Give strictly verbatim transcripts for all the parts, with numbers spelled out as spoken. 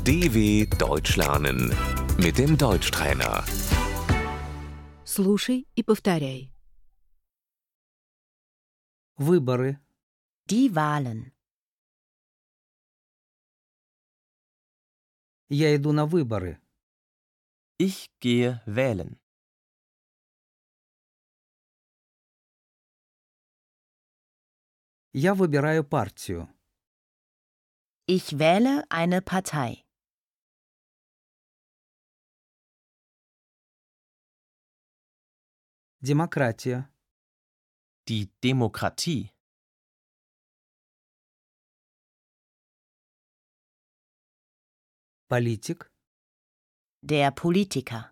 D W Deutsch lernen mit dem Deutschtrainer. Слушай и повторяй. Выборы. Die Wahlen. Я иду на выборы. Ich gehe wählen. Я выбираю партию. Ich wähle eine Partei. Демократия. Die Demokratie. Политик. Der Politiker.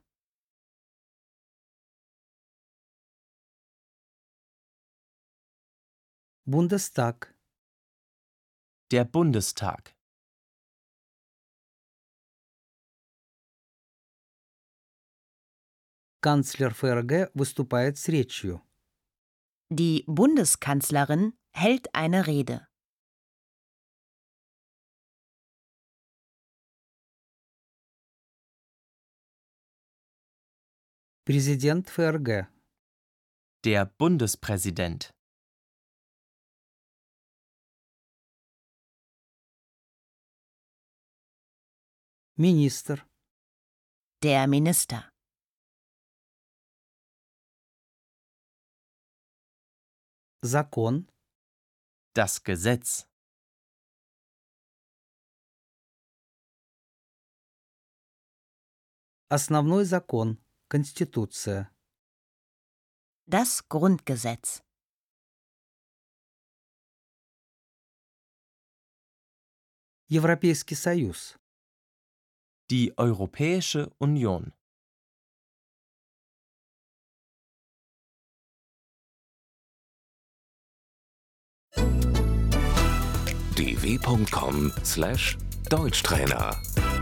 Бундестаг. Der Bundestag. Канцлер ФРГ выступает с речью. Die Bundeskanzlerin hält eine Rede. Президент ФРГ. Der Bundespräsident. Министр. Der Minister. Закон. Das Gesetz. Основной закон. Конституция. Das Grundgesetz. Европейский союз. Die Europäische Union. d w punkt com slash Deutschtrainer